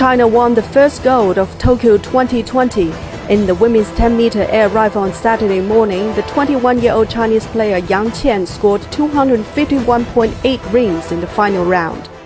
China won the first gold of Tokyo 2020. In the women's 10-meter air rifle on Saturday morning, the 21-year-old Chinese player Yang Qian scored 251.8 rings in the final round.